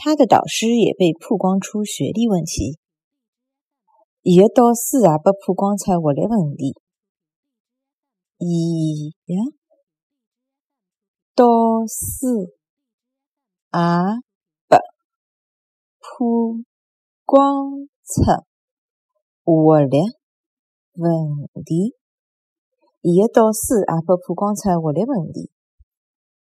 他的导师也被曝光出学历问题，伊的导师也被曝光出学历问题。伊的导师也被曝光出学历问题。伊的导师也被曝光出学历问题。